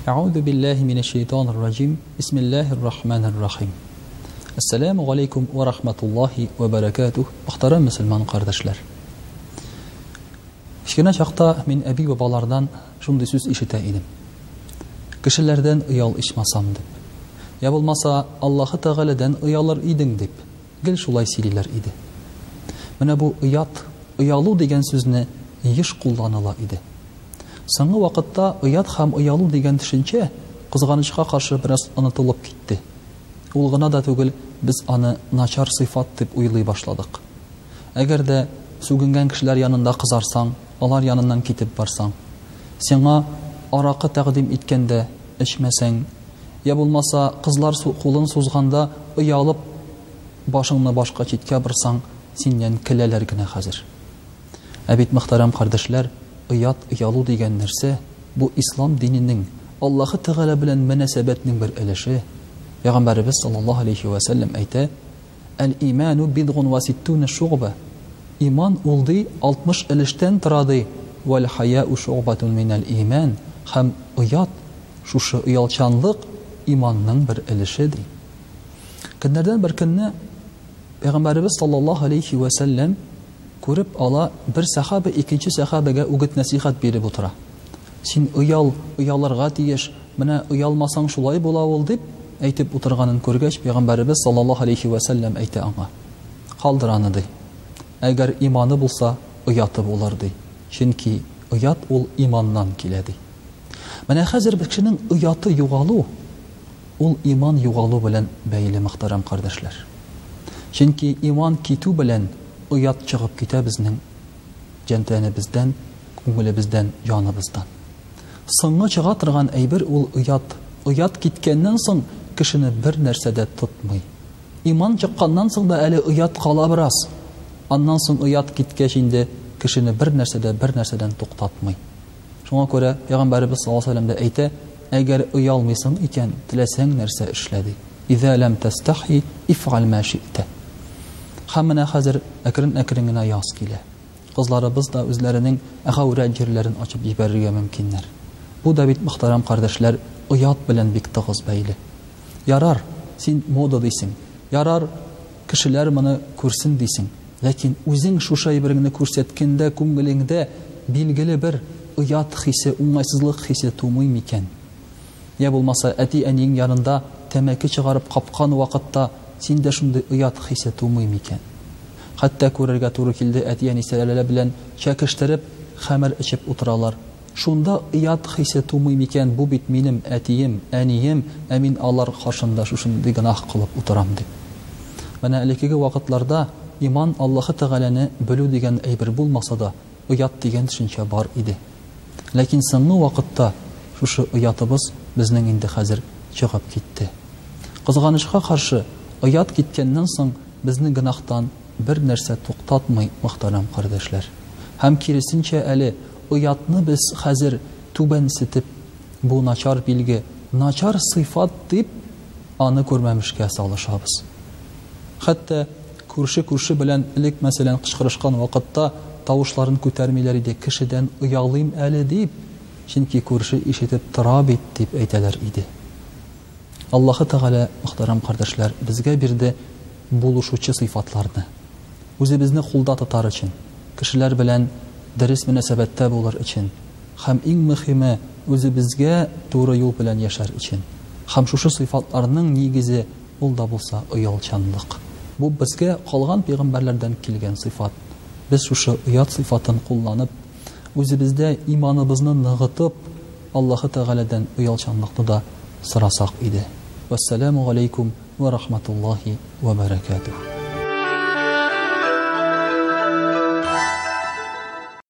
أعوذ بالله من الشيطان الرجيم بسم الله الرحمن الرحيم Assalamu alaikum wa rahmatullahi wa barakatuh. Muhtaram musulmon qardoshlar. Kichkina chaqda men abi va bolardan shunday so'z eshita edim. Kishilardan uyal ishmasam deb. Ya bo'lmasa Alloh taoladan uyalar eding deb. Gil shulay sililar edi. Mana bu uyalu degan so'zni yish qo'llanila edi. So'nggi vaqtda uyat ham uyalu degan tushuncha qizg'anishga qarshi biroz unutilib ketdi. Ул гына да түгел, biz аны начар сыйфат дип уйлый башладык. Әгәр дә сүгенгән кешеләр янында кызарсаң, алар яныннан китеп барсаң, сиңа аракы тәкъдим иткәндә эчмәсәң, я булмаса кызлар кулын сузганда уялып башыңны башка читкә борсаң, синнән көләләр генә хәзер. Әбит мөхтәрәм кардәшләр, уялу дигән нәрсә бу ислам диненең Аллаһы Тәгалә белән мөнәсәбәтнең бер өлеше. Peygamberimiz sallallahu aleyhi ve sellem aytı: "El-imanu bid'un ve sittuna şu'ba." İman oldu 60 ilişten turadı. Vel haya'u şu'batun minel iman. Hem uyat, şuşu uyalçanlık imanның bir ilişidir. Günlerden bir günne Peygamberimiz sallallahu aleyhi ve sellem görüp ala bir sahabe ikinci sahabege ugut nasihat berip otura. Sen uyalarga tiyiş, mene uyalmasan şulay bola ol dip әйтеп утырганын күргәч, Пәйгамбәрбез саллаллаһу алейхи ва саллям әйтә аңа: "Калдыр аны ди. Әгәр иманы булса, уяты булыр ди. Чөнки уят ул иманнан килә ди." Менә хәзер бер кешенең уяты югалу, ул иман югалу белән бәйле, мөхтәрәм кардәшләр. Чөнки иман китү белән уят чыгып китә безнең җантәнебездән, күңелебездән, җаныбыздан. Соңгы чыга торган әйбер ул уят. Уят киткәннән соң кешене бер нәрсәдә тотмый. Иман чыкканнан соң да әле уят кала бераз. Аннан соң уят киткәч инде кешене бер нәрсәдән туктатмый. Шуңа күрә Пәйгамбәрбез саллаллаһу алейһи ва саллям әйтә: "Әгәр уялмыйсың икән, теләсәң нәрсә эшләди. Иза лам тастахи иф'ал ма ши'та." Һәммәне хәзер әкрен генә яз килә. Кызларыбыз да үзләренең әхәүрә җирләрен ачып җибәрергә мөмкиннәр. Бу да бит мөхтәрәм кардәшләр, уят белән бик тыгыз бәйле. Ярар, син мода дисең. Ярар, кешеләр моны күрсен дисең. Ләкин үзең шушай береңне күрсәткәндә күңелеңдә билгеле бер уят хисе, уңайсызлык хисе тумый микән? Я булмаса әти-әниң янында тәмәке чыгарып капкан вакытта синдә шундый уят хисе тумый микән? Хәтта күрергә туры килде, әти-әнисәләре белән чәкештереп хәмер эчеп утыралар. Шунда уят хисе тумый микән? Бу бит минем әтием, әнием, ә мин алар каршында шушындый гынах кылып утырам дип. Менә элекеге вакытларда иман Аллаһы Тәгаләне белү дигән әйбер булмаса да, уят дигән төшенчә бар иде. Ләкин соңгы вакытта шушы уятыбыз безнең инде хәзер чыгып китте. Кызганычка каршы, уят киткәннән соң безне гынахтан бер нәрсә туктатмый, мөхтәрәм кардәшләр. Һәм киресенчә әле уятны без хәзер түбәнсетеп, бу начар билге, начар сыйфат дип аны күрмәмешкә салышабыз. Хәтта күрше белән элек мәсәлән кычкырышкан вакытта тавышларын күтәрмиләр иде, кешедән уялыйм әле дип, чөнки күрше ишетеп тора бит дип әйтәләр иде. Аллаһы Тәгалә, мөхтәрәм кардәшләр, безгә бирде булышучы сыйфатларны. Үзебезне кулда тотар өчен, кешеләр белән дөрес мөнәсәбәттә булыр өчен, һәм иң мөһиме үзебезгә туры юл белән яшәр өчен. Һәм шушы сыйфатларның нигезе ул да булса уялчанлык. Бу безгә калган пәйгамбәрләрдән килгән сыйфат. Без шушы уят сыйфатын кулланып, үзебездә иманыбызны ныгытып, Аллаһы Тәгаләдән уялчанлыкны да сорасак иде. Вассаламу алейкум ва рахматуллаһи ва баракатуһ.